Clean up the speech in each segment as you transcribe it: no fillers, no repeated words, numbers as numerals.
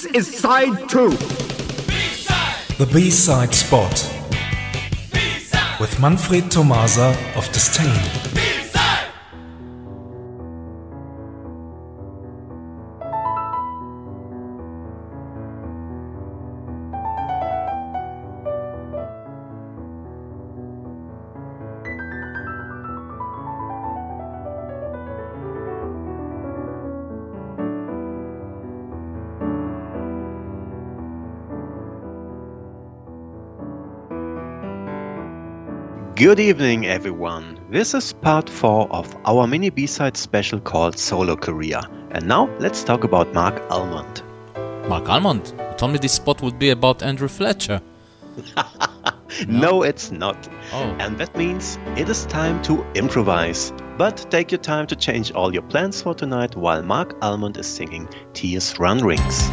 This is side 2. The B-side spot with Manfred Tomasa of Disdain. Good evening, everyone. This is part 4 of our mini B-side special called Solo Career. And now let's talk about Mark Almond. Mark Almond? You told me this spot would be about Andrew Fletcher. No, it's not. Oh. And that means it is time to improvise. But take your time to change all your plans for tonight while Mark Almond is singing Tears Run Rings.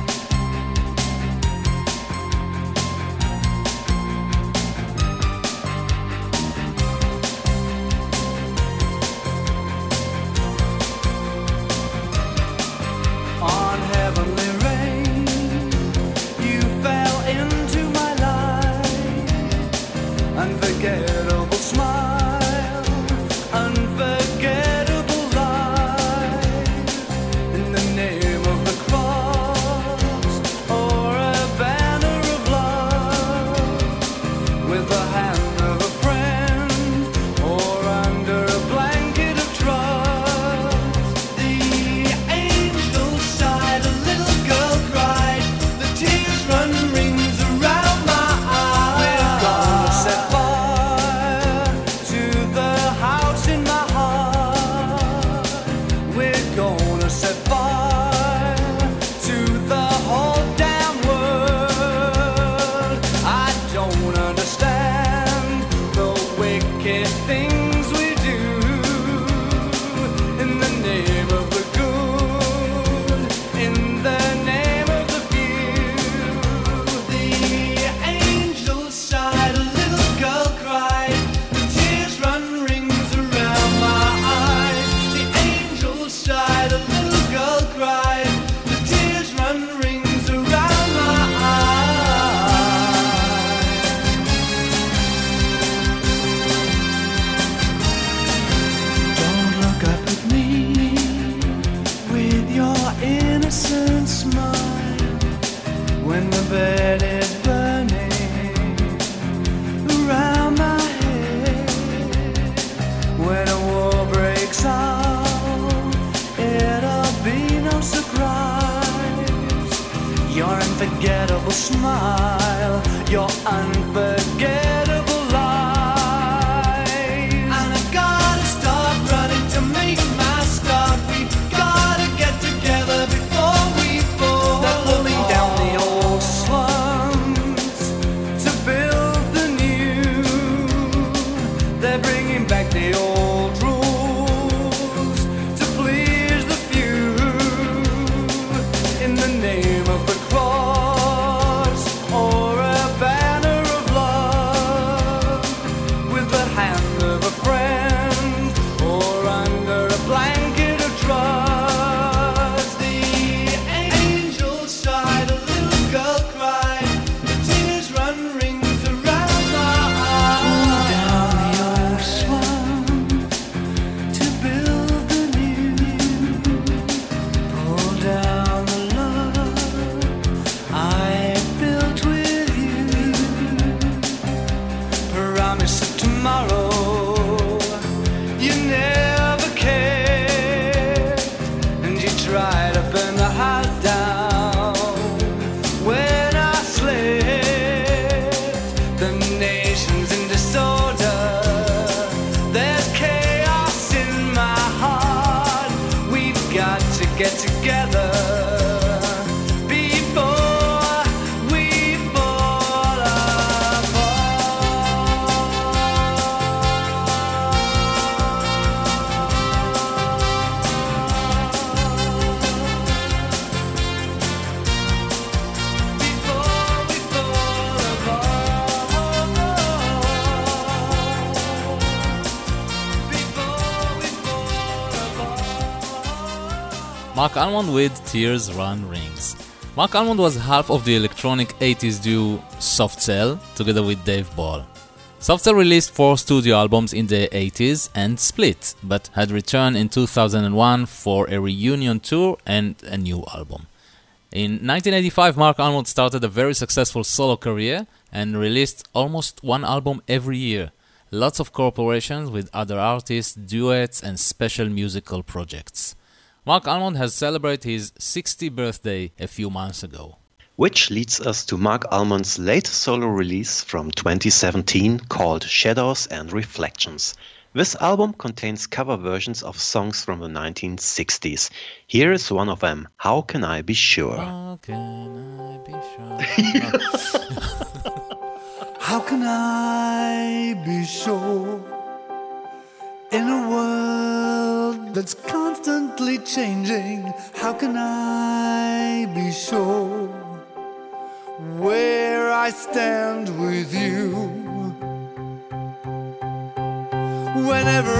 Unforgettable smile, your unforgettable lies. And I gotta start running to make my start. We gotta get together before we fall. They're pulling down the old slums to build the new. They're bringing back the old rules to please the few. In the name of the cross or a banner of love, with the hand of a friend or under a blanket of trust. The angel sighed, a little girl cried, the tears run rings around my eyes. Pull down the old slum to build the new. Pull down the I built with you. Promise of tomorrow you never cared, and you tried to burn the house down when I slept. The nation's in disorder, there's chaos in my heart. We've got to get together before we fall Mark Almond with Tears Run Rings. Mark Almond was half of the electronic 80s duo Soft Cell, together with Dave Ball. Soft Cell released 4 studio albums in the 80s and split, but had returned in 2001 for a reunion tour and a new album. In 1985, Mark Almond started a very successful solo career and released almost one album every year. Lots of collaborations with other artists, duets, and special musical projects. Mark Almond has celebrated his 60th birthday a few months ago. Which leads us to Mark Almond's latest solo release from 2017 called Shadows and Reflections. This album contains cover versions of songs from the 1960s. Here is one of them, How Can I Be Sure? How can I be sure? How can I be sure in a world that's constantly changing? How can I be sure where I stand with you? Whenever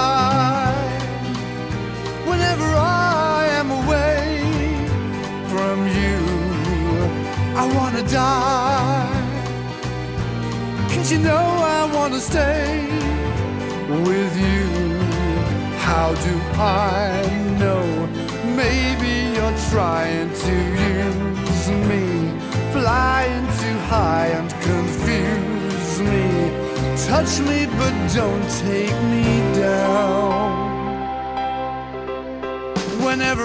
I am away from you, I wanna die. 'Cause you know I wanna stay with you. How do I know? Maybe you're trying to use me, flying too high and confuse me. Touch me but don't take me down. Whenever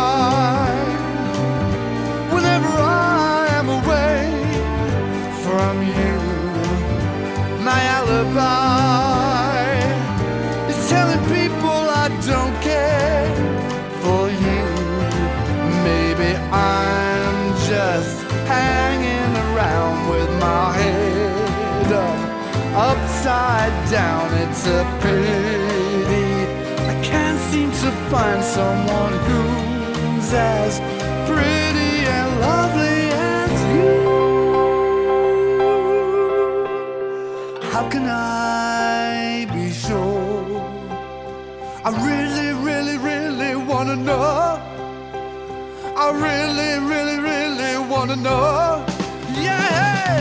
I am away from you, my alibi is telling people I don't care for you. Maybe I'm just hanging around with my head up, upside down. It's a pity I can't seem to find someone who's as pretty and lovely as you. How can I be sure? I really, really, really wanna know. I really, really, really wanna know. Yeah.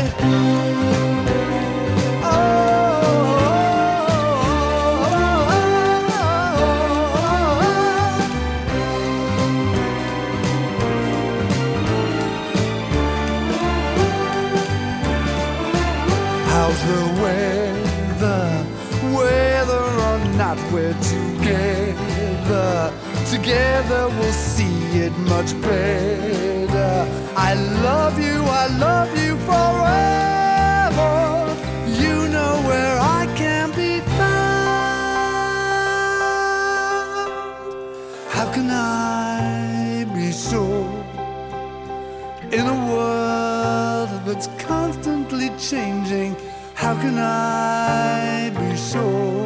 How's the weather? Whether or not we're together we'll see it much better. I love you forever. You know where I can be found. How can I be sure in a world that's constantly changing? How can I be sure?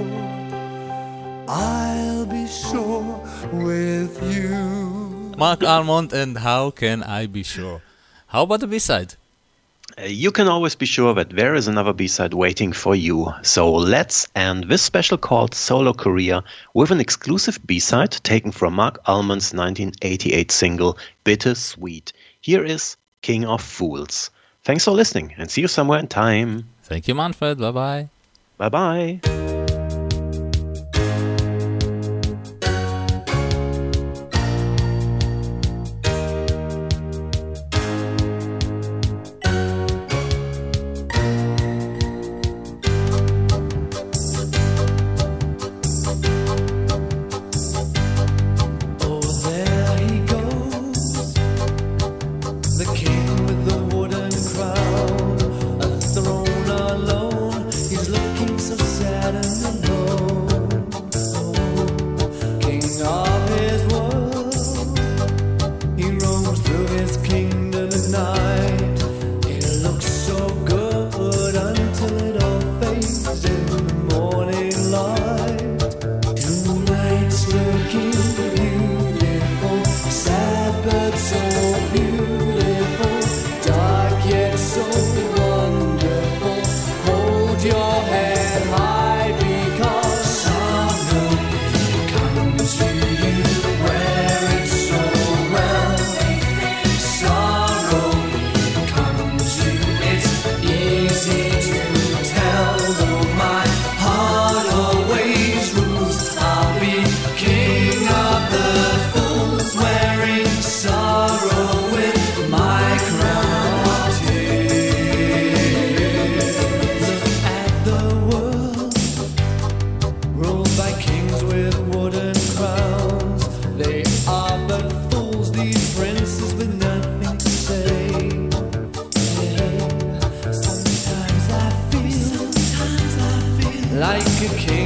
I'll be sure with you. Mark Almond and How Can I Be Sure? How about the B-side? You can always be sure that there is another B-side waiting for you. So let's end this special called Solo Career with an exclusive B-side taken from Mark Almond's 1988 single Bittersweet. Here is King of Fools. Thanks for listening and see you somewhere in time. Thank you, Manfred. Bye-bye. Bye-bye. Sad but so beautiful. king